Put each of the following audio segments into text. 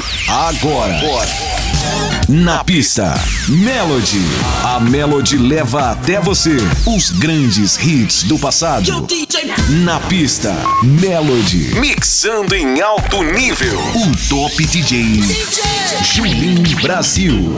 Agora. Na pista, Melody. A Melody leva até você os grandes hits do passado. Na pista, Melody. Mixando em alto nível. O Top DJ Julinho Brasil.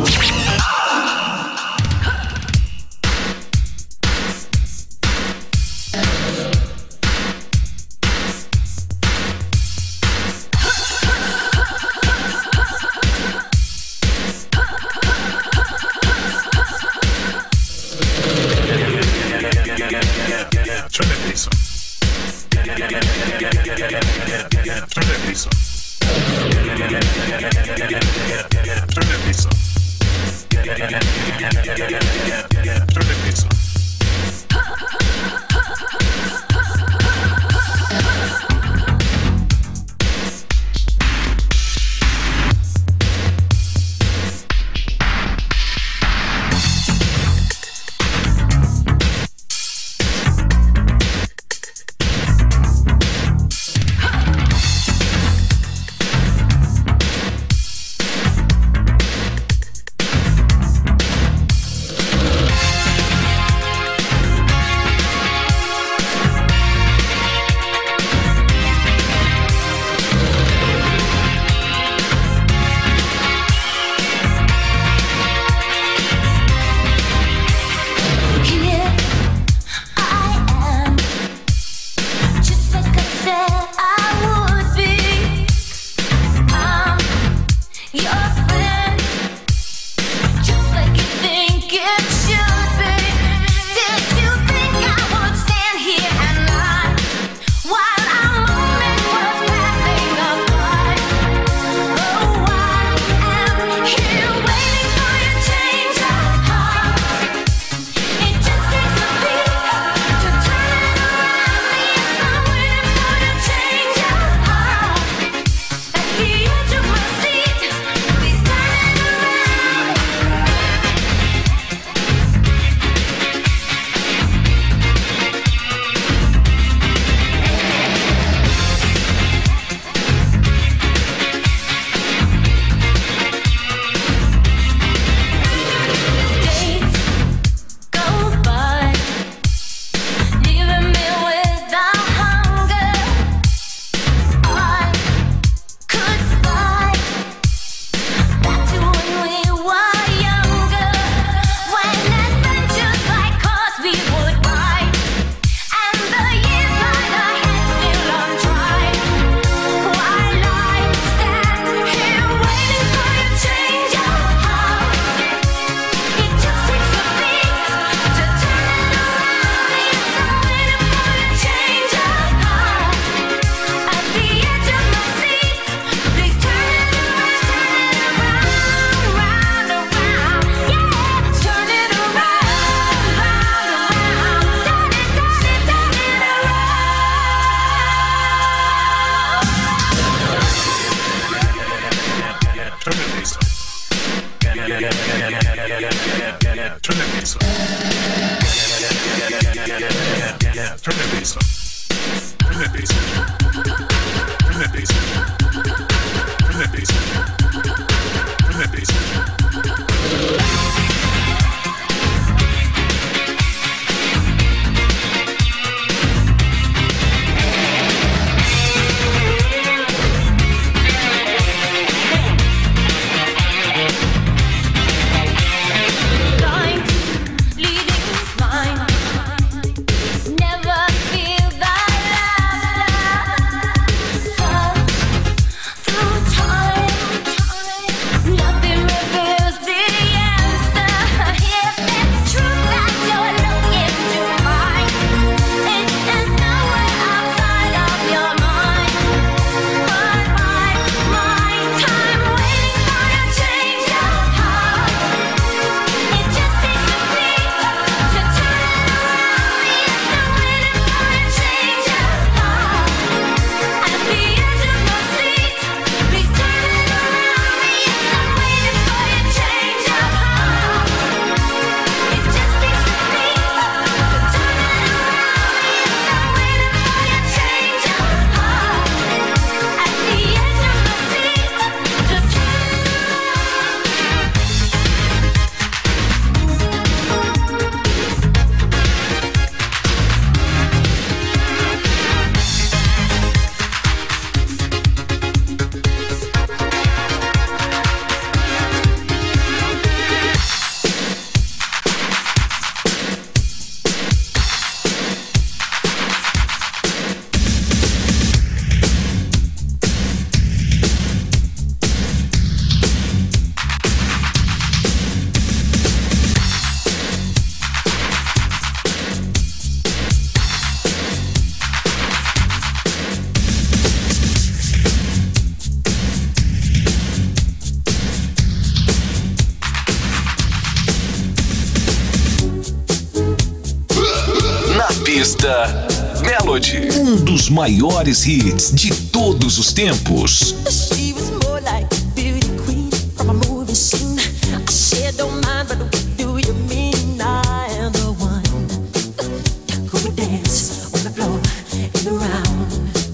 Pista Melody, um dos maiores hits de todos os tempos. She was more like a beauty queen from a movie scene. I said don't mind, but what do you mean? I am the one who would dance on the floor and around.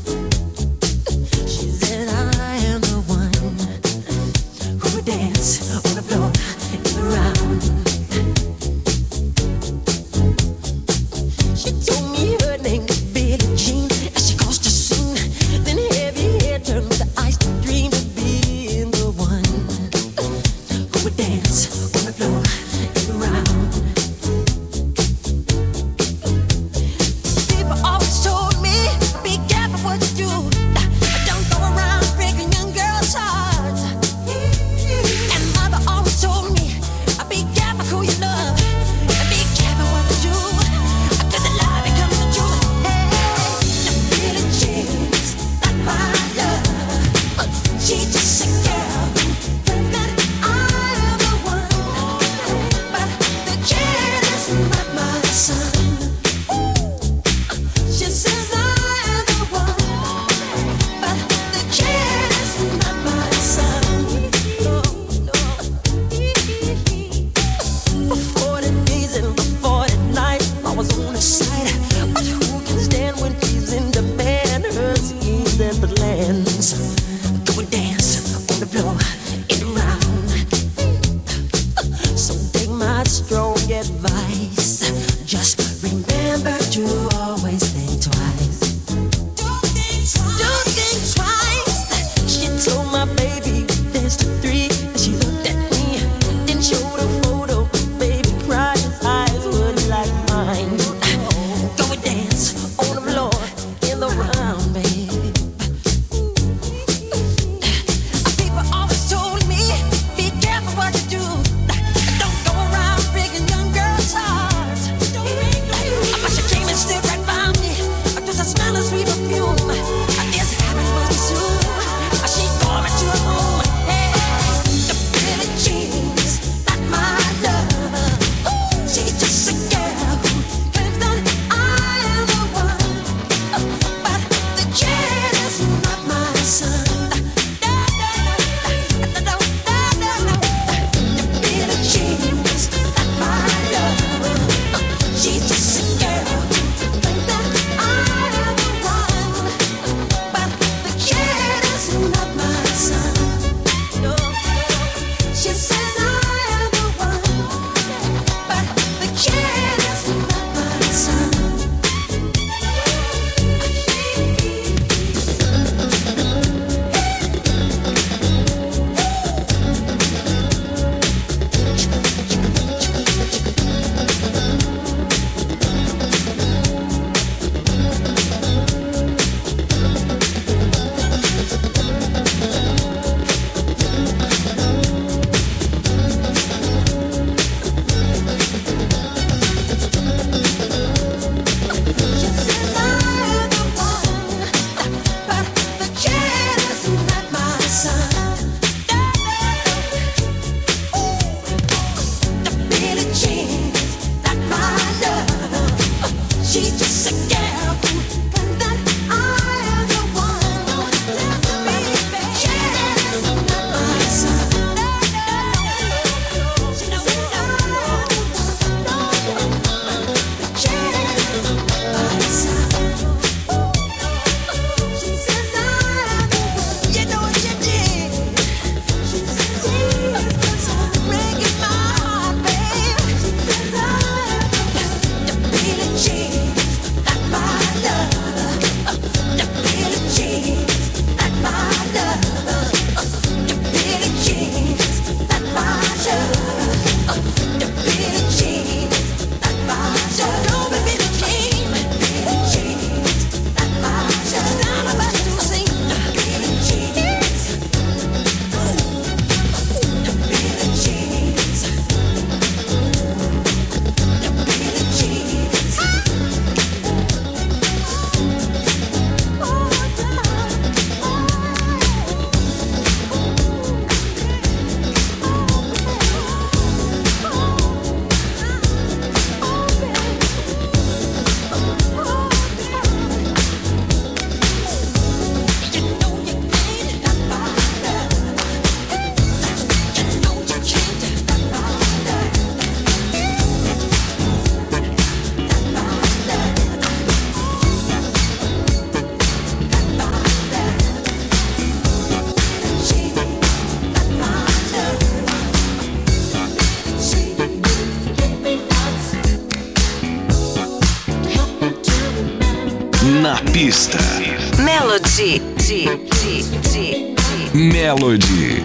She said I am the one who would dance on the floor and around. She told me her name was Billie Jean as she caused a scene. Then heavy hair turned with the ice dream to be pista. Melody. Melody.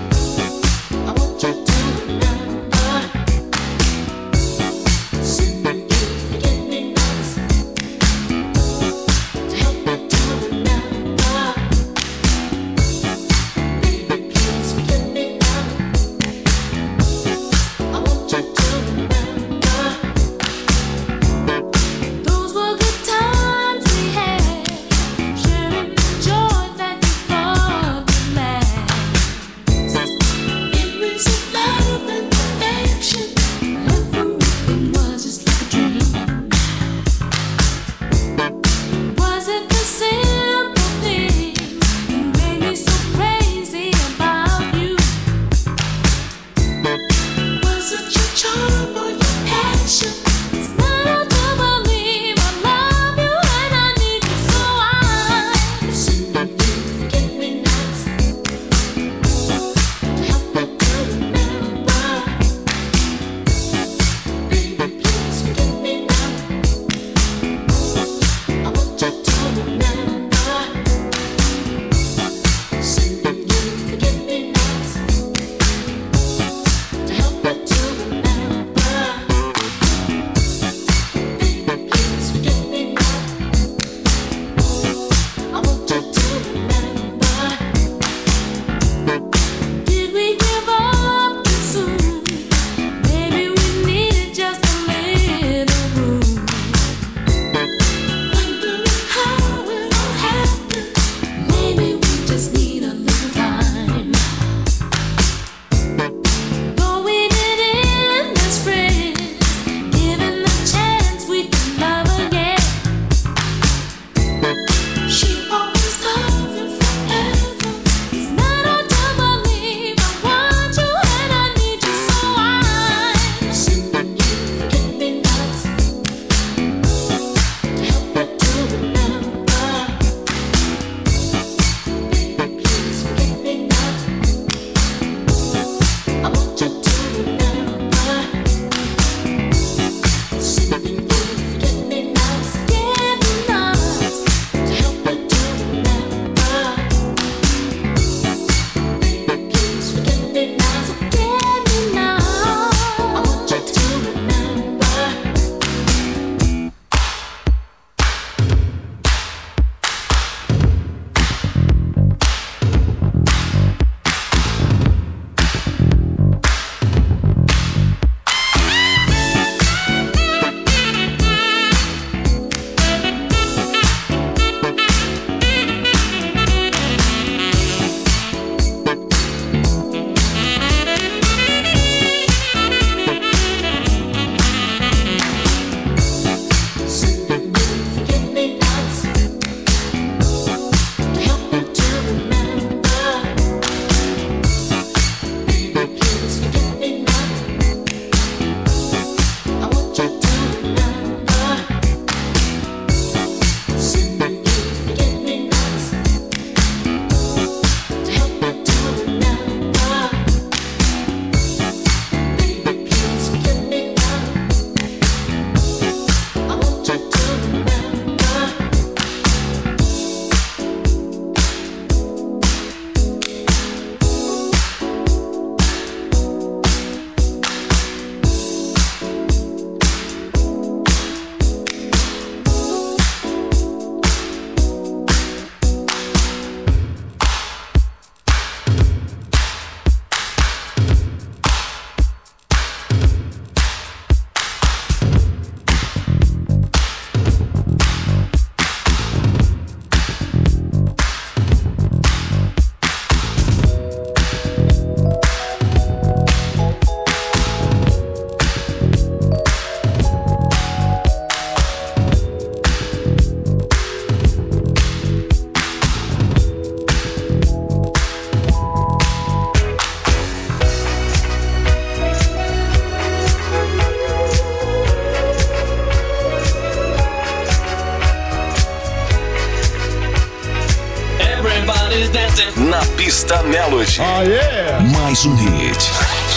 Na pista Melody. Oh, yeah. Mais um hit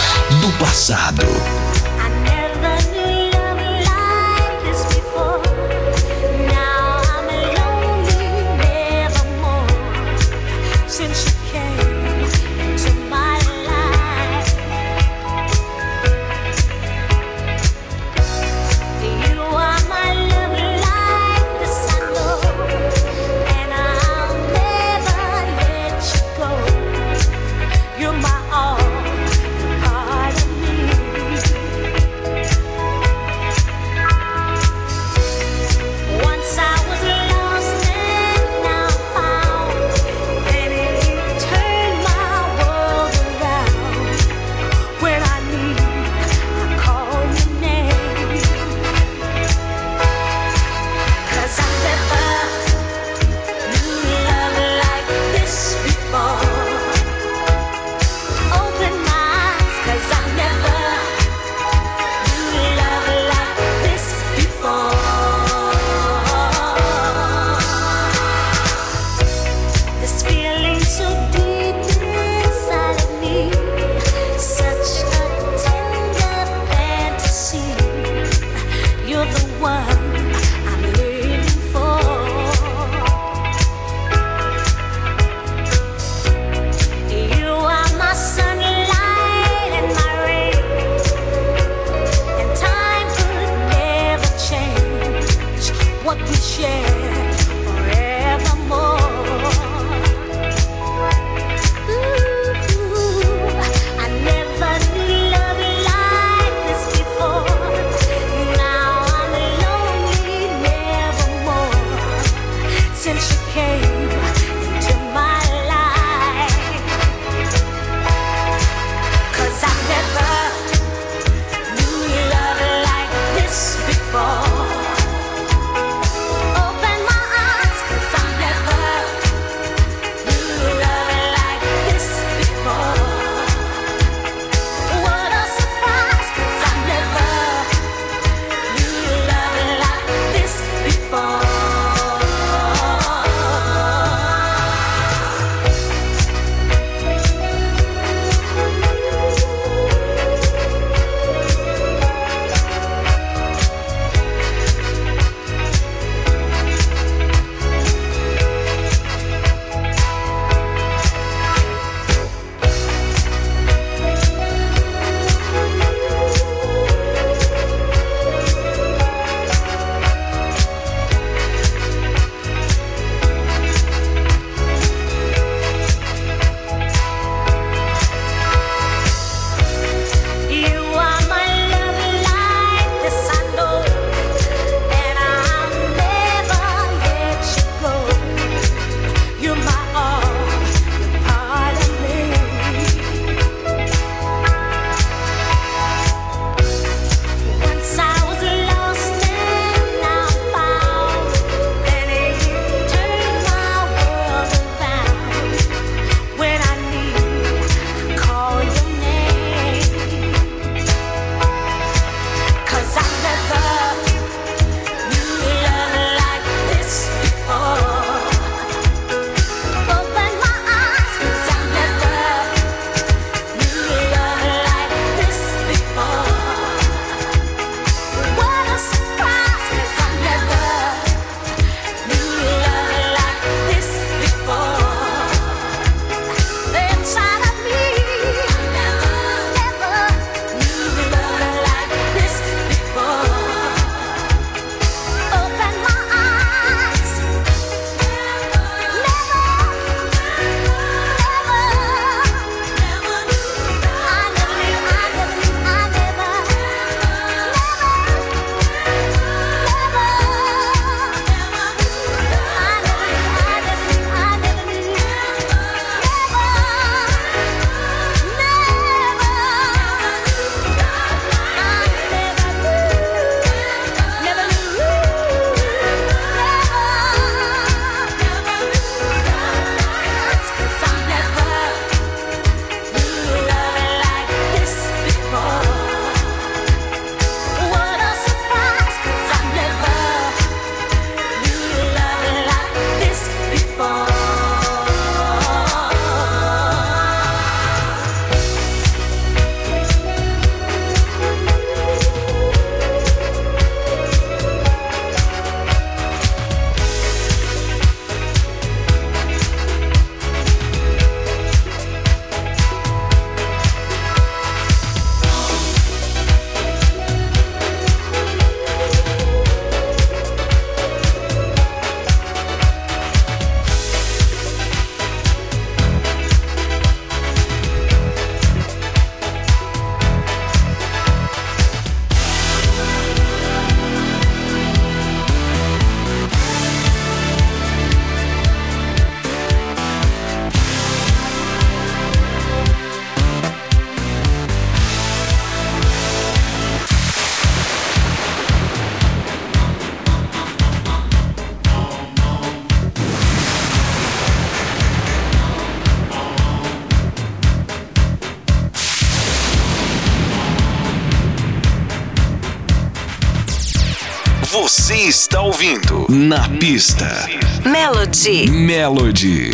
do passado. Você está ouvindo Na Pista. Melody. Melody.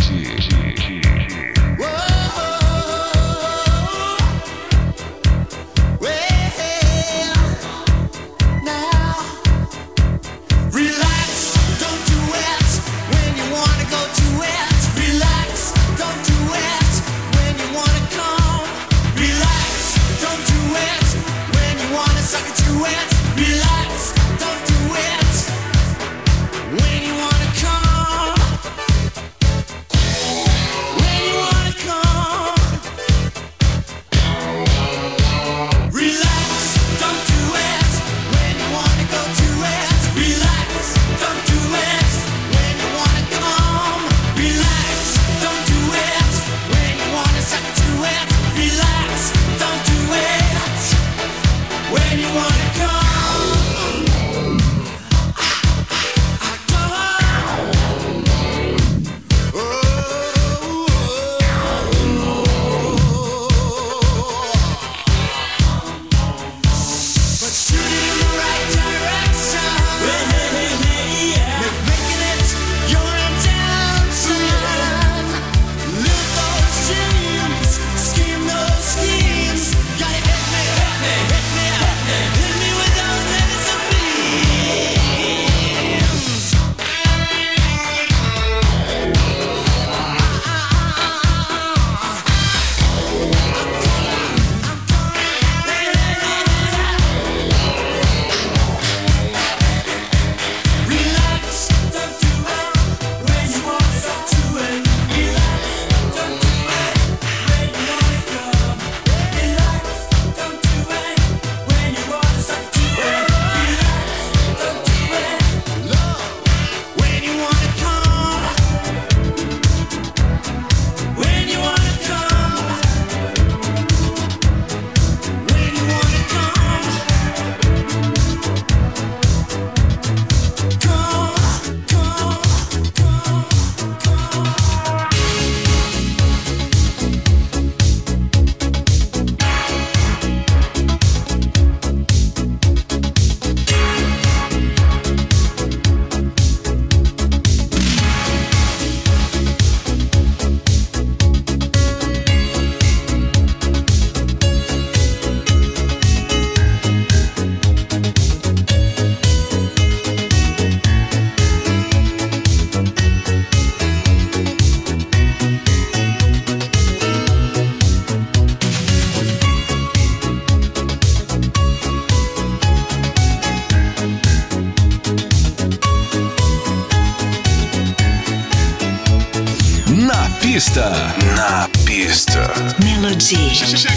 Na pista. Melody.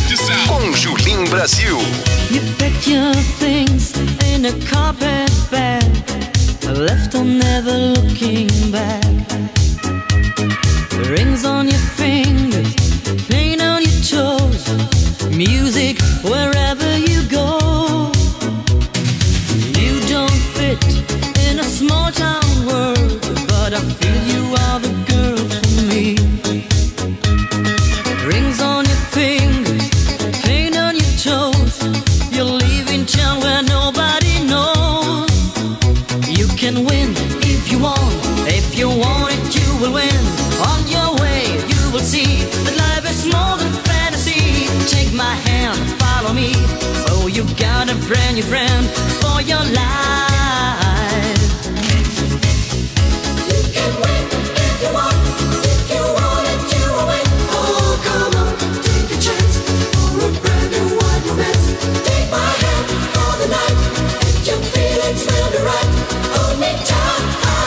Com Julim Brasil. You packed your things in a carpet bag, left on never looking back. Rings on your fingers, paint on your toes, music wherever you go. You don't fit in a small town world, but I feel you are the girl for me. Rings on your fingers, paint on your toes. You're leaving town where nobody knows. You can win if you want. If you want it, you will win. On your way, you will see that life is more than fantasy. Take my hand, follow me. Oh, you got a brand new friend for your life. You can win if you want. If you want it, you will win. Oh, come on, take a chance for a brand new wide romance. Take my hand for the night, and your feelings will be right. Hold me tight.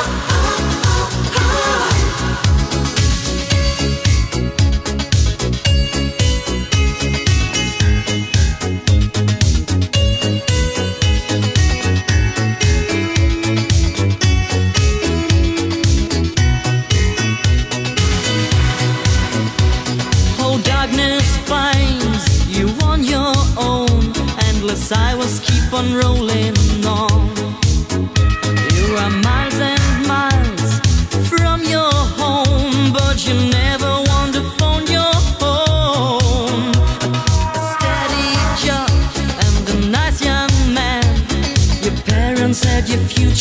Silence keep on rolling on. You are miles and miles from your home, but you never want to phone your home. A steady job and a nice young man. Your parents said your future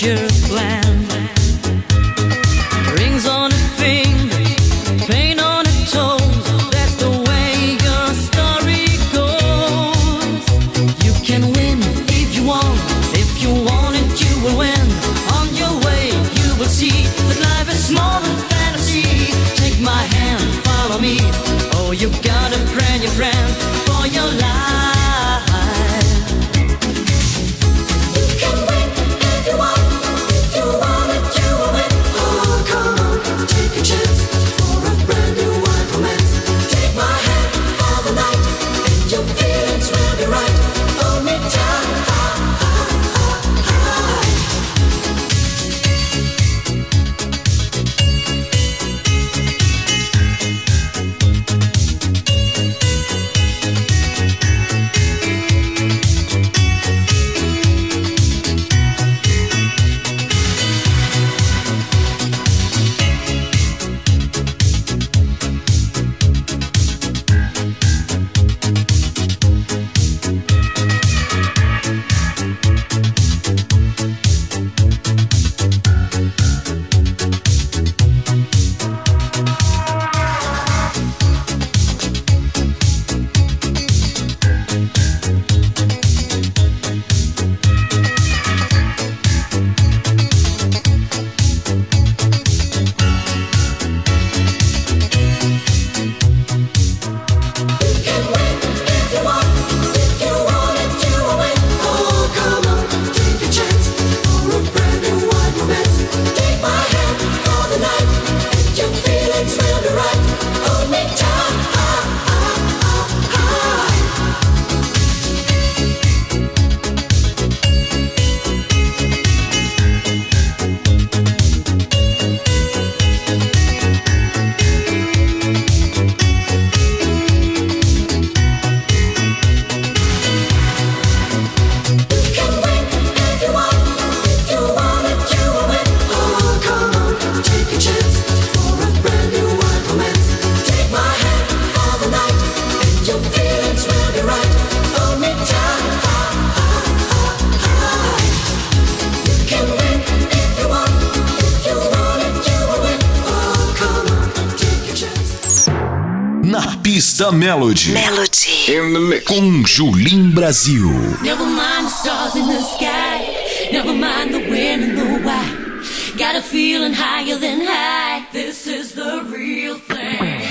Pista Melody. In the mix. Com Julim Brasil. Never mind the stars in the sky. Never mind the when and the why. Got a feeling higher than high. This is the real thing.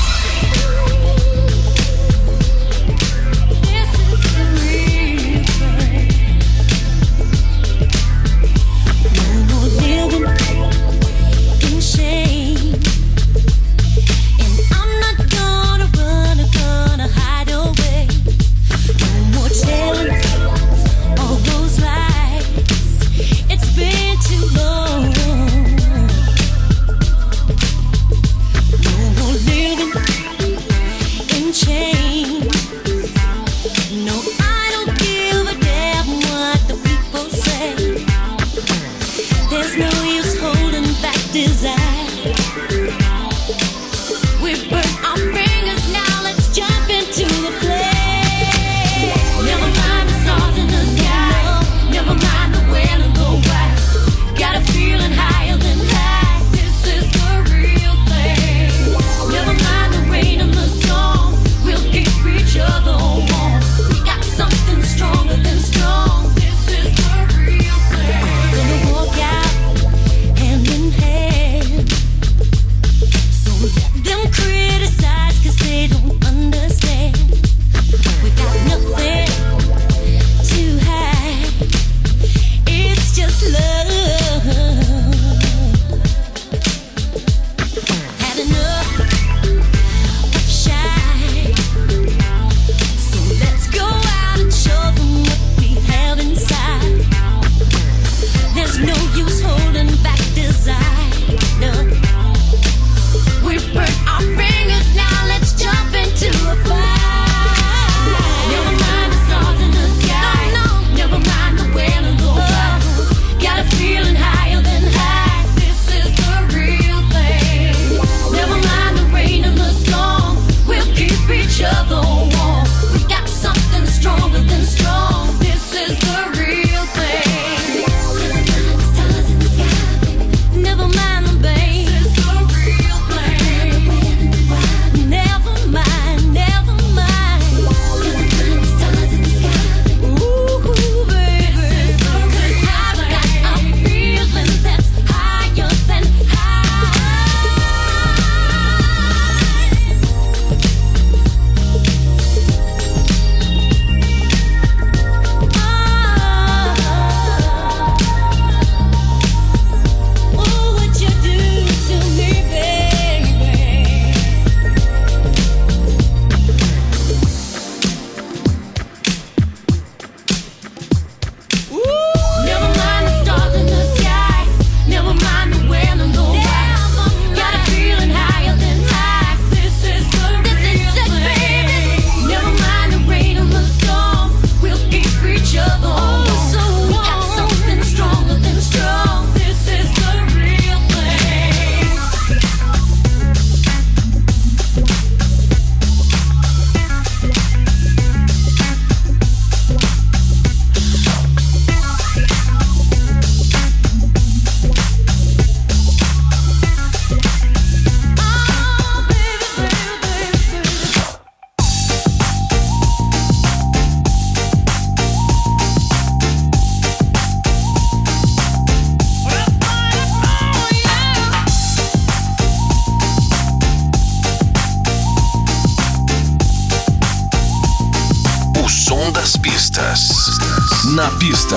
Na pista.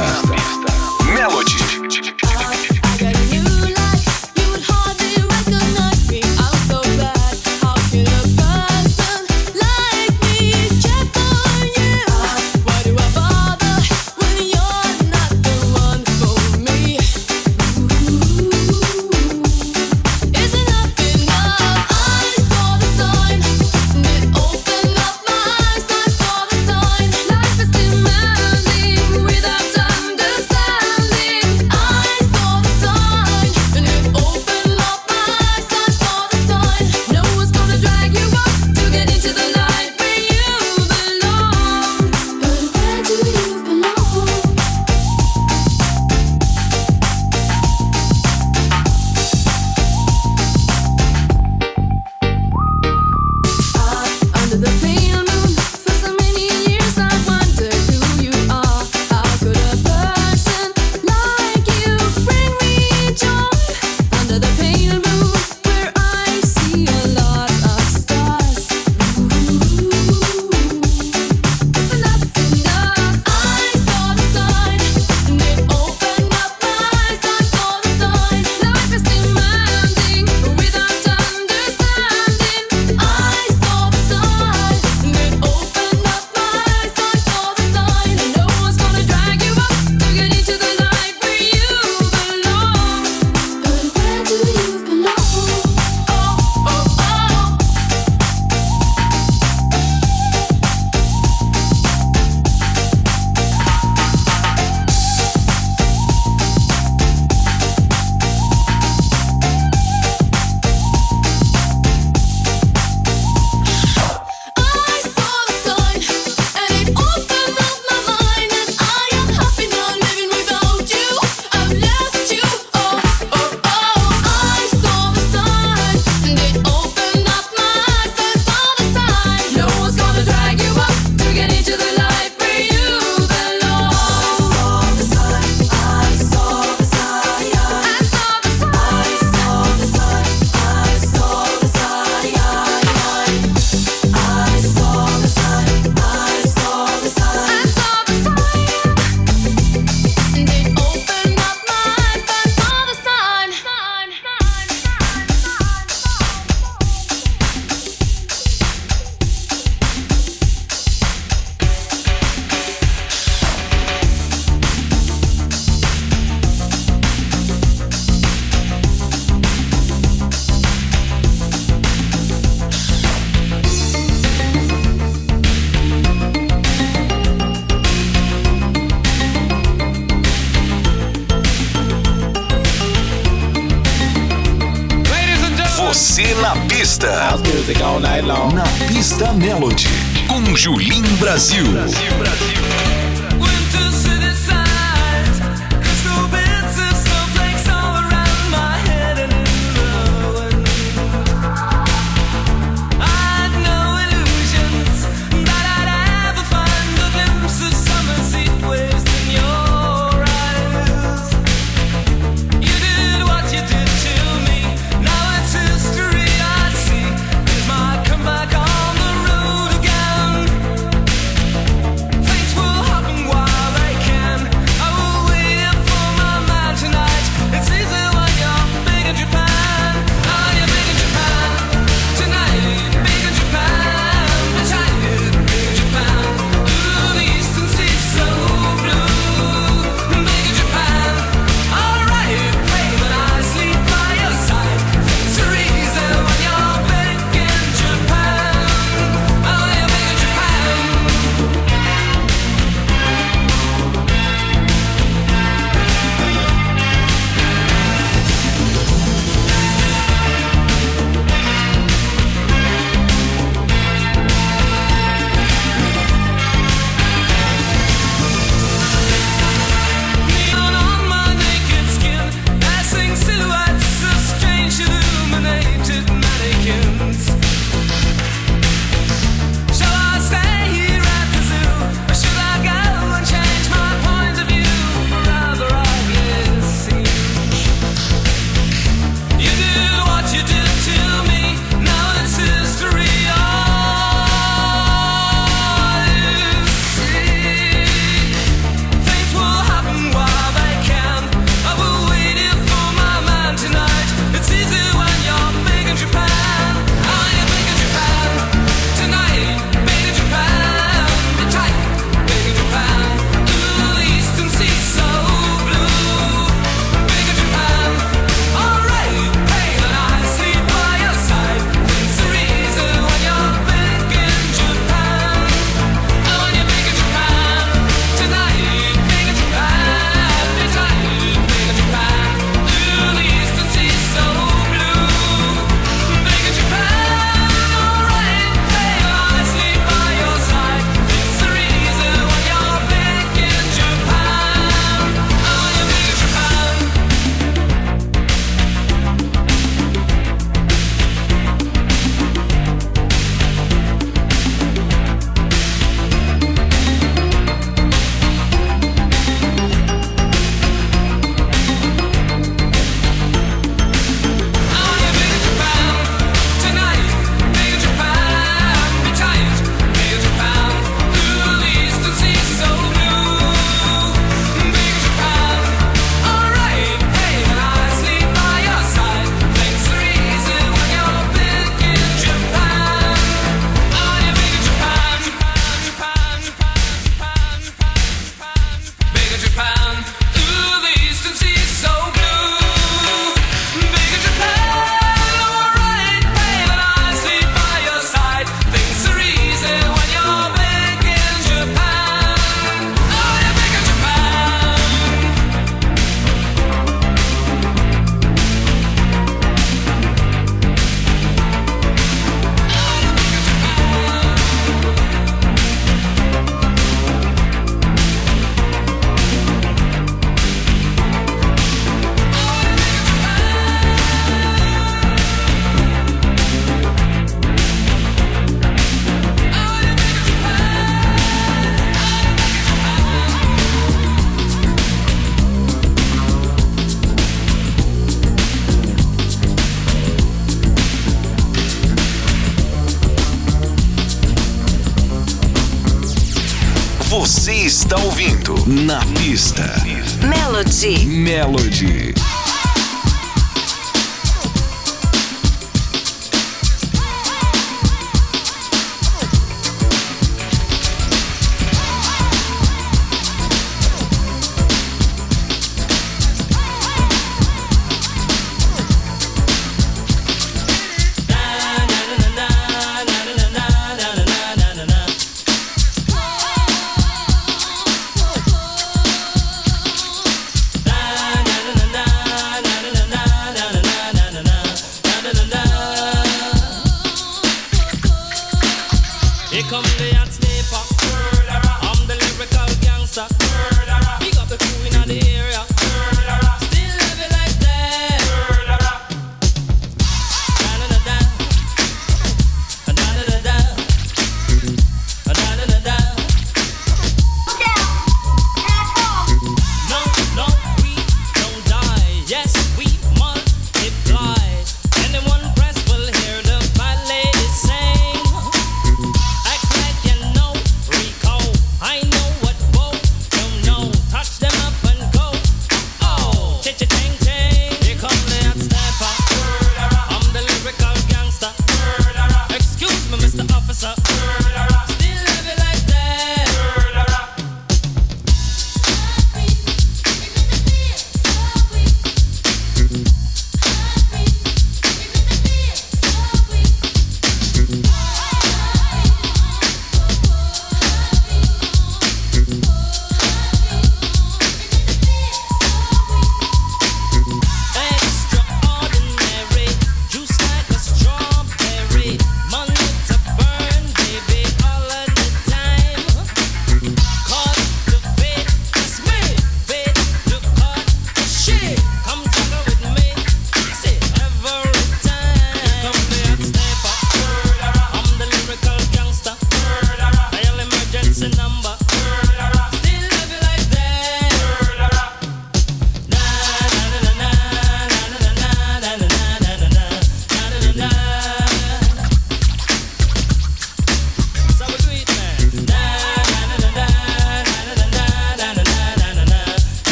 Melody. Life is demanding without understanding. music all night long. Na pista Melody, com Julim Brasil. Você está ouvindo Na Pista Melody. Na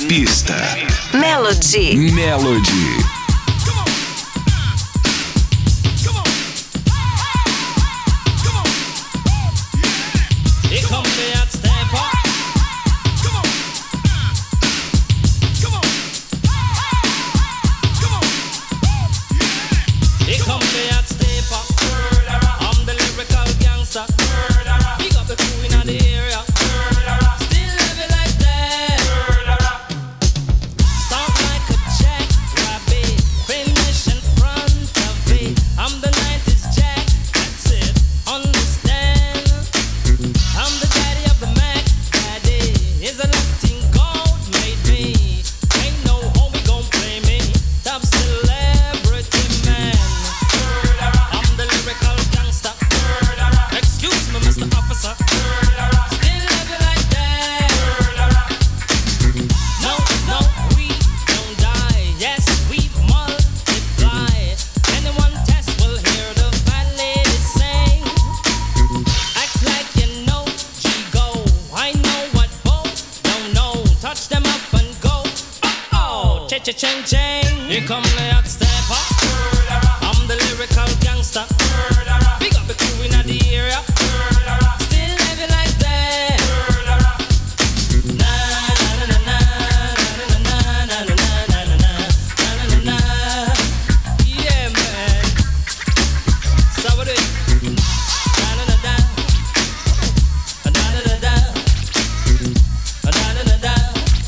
pista. Melody. Melody. Here come the hot stepper. I'm the lyrical gangster. Big up the crew in the area. Still living like that. Na na na na na na na na na na na. Yeah, man. So what it? Na na na na. Na na na na. Na na na na.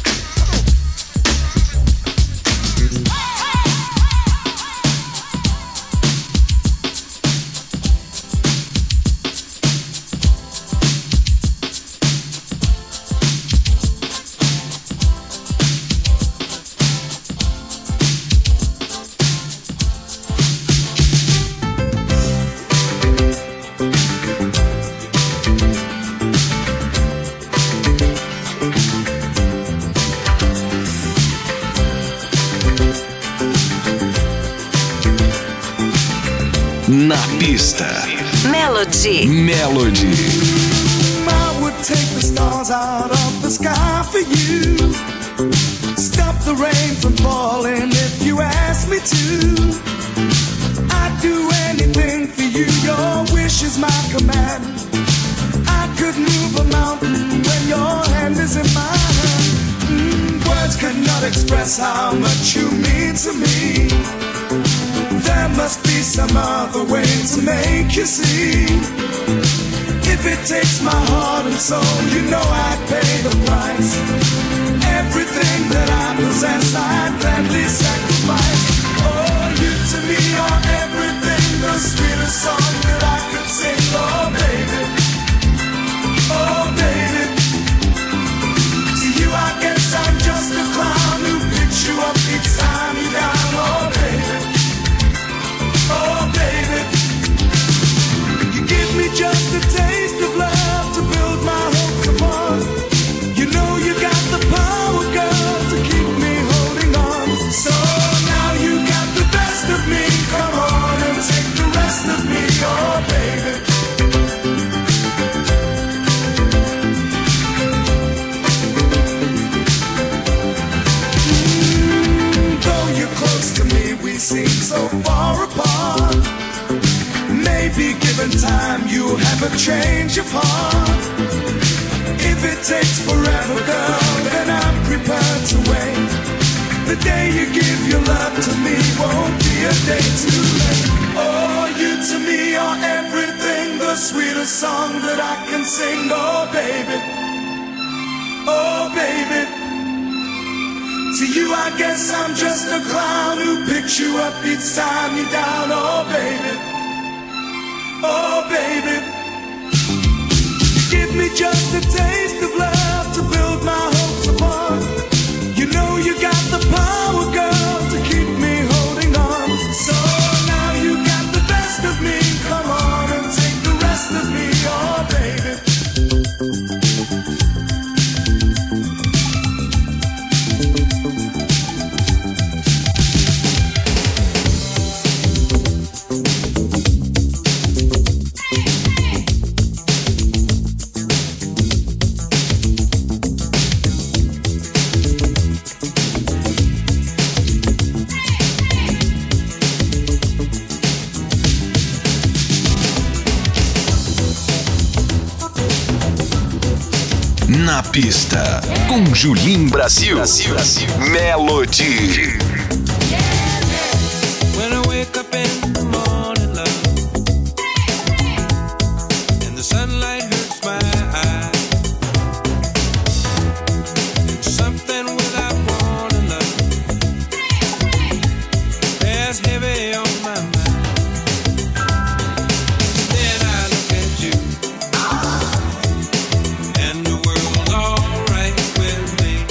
Na pista. Melody. Melody. I would take the stars out of the sky for you. Stop the rain from falling if you ask me to. I'd do anything for you, your wish is my command. I could move a mountain when your hand is in my hand. Words cannot express how much you mean to me. There must be some other way to make you see. If it takes my heart and soul, you know I'd pay the price. Everything that I possess, I'd gladly sacrifice. Oh, you to me are everything, the sweetest song that I could sing. Oh, baby, oh, baby. To you I guess I'm just a clown who picks you up each time you're down. Oh, baby, oh, baby. You give me just a taste of love to build my hopes upon. You know you got the power, girl, to keep me holding on. So now you got the best of me. Come on and take the rest of me, oh, baby. Though you're close to me, we seem so far apart. Maybe given time, you'll have a change of heart. If it takes forever, girl, then I'm prepared to wait. The day you give your love to me won't be a day too late. Oh, you to me are everything, the sweetest song that I can sing. Oh, baby, oh, baby. To you I guess I'm just a clown who picks you up each time you're down. Oh, baby, oh, baby. Give me just a taste of love to build my hopes upon. You know you got the power, girl, to keep me holding on. So now you got the best of me. Come on and take the rest of me, oh, baby. Na pista, com Julim Brasil. Melody. When I wake up in the morning, love, and the sunlight hurts my eyes, something without warning, love, bears heavy on my mind. Then I look at you, and the world's alright with me.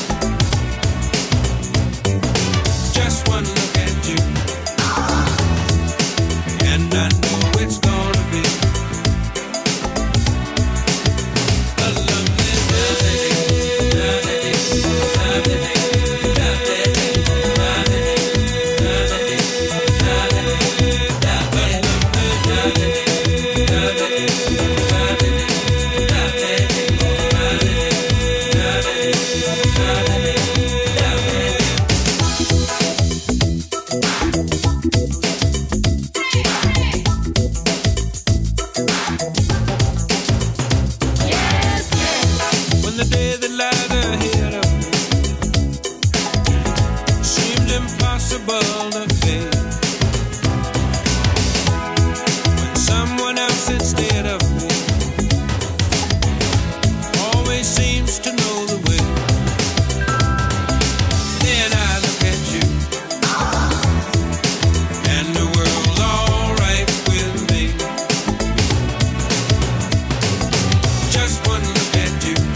Just one look at you, and I know it's gonna be a lovely day. When the day that lies ahead of me seems impossible to face, when someone else instead of me always seems to know the way, then I look at you, and the world's alright with me. Just one look at you,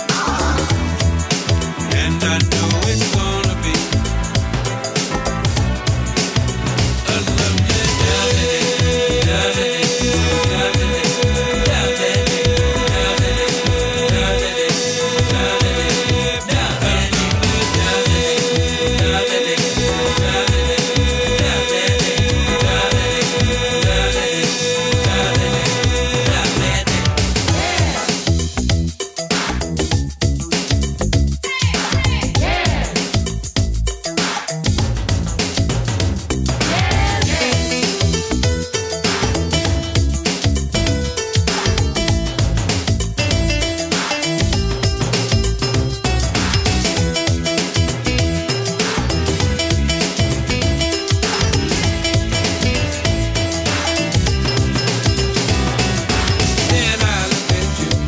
and I know it's gonna be a lovely day. Then I look at you,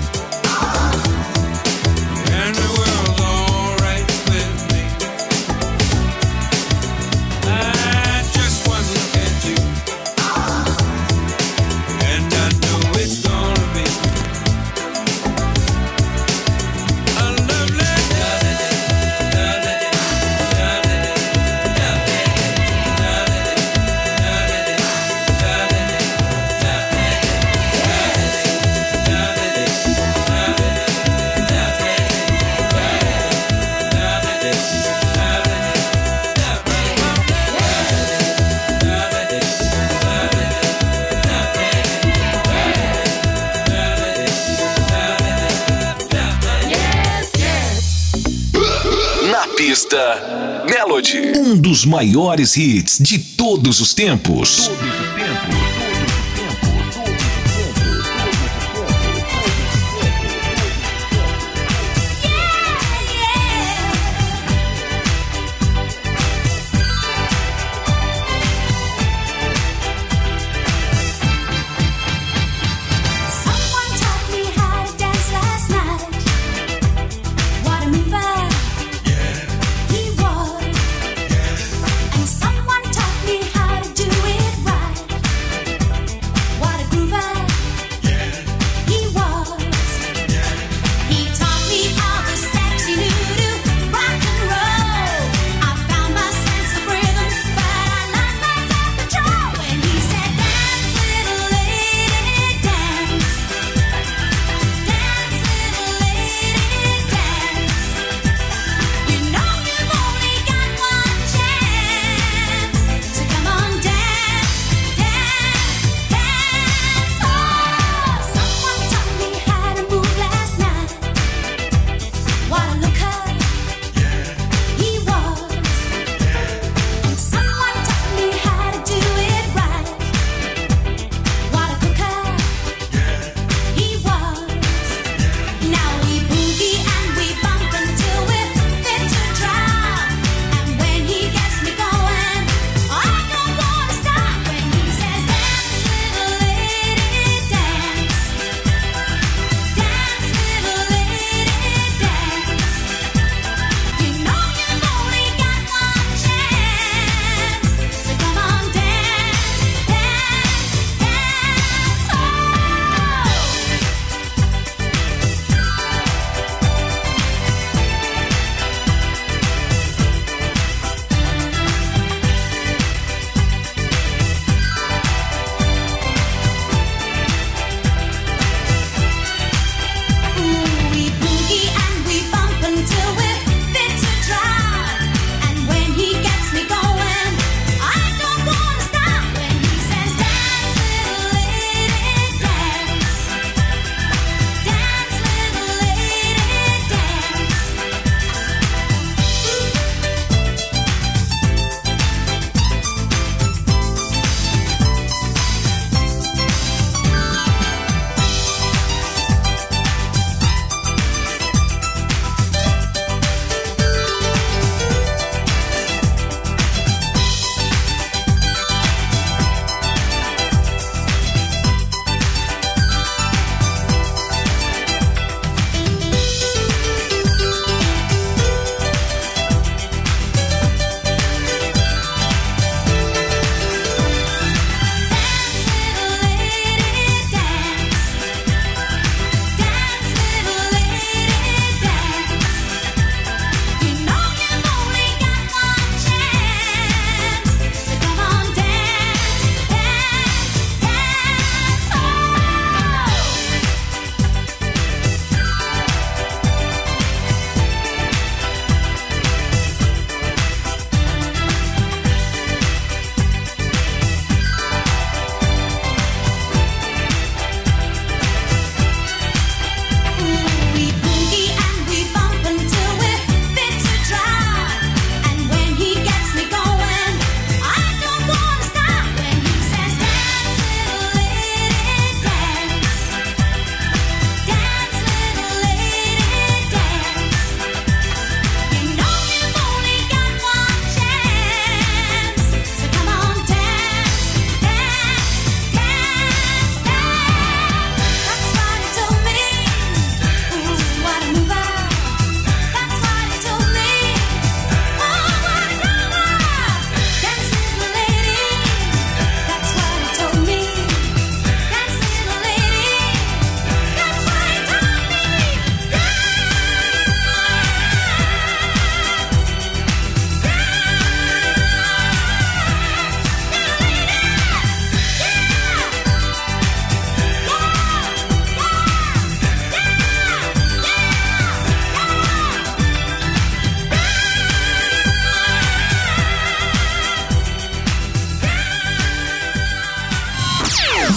and the world's alright with me. Just one look at you, and I know it's gonna be a lovely Na pista, Melody. Um dos maiores hits de todos os tempos. Someone taught me how to dance last night. What a mover he was. And someone taught me how to do it right.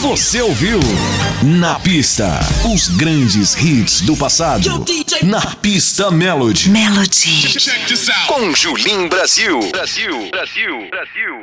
Você ouviu Na Pista, os grandes hits do passado. Na Pista Melody. Melody. Com Julim Brasil. Brasil.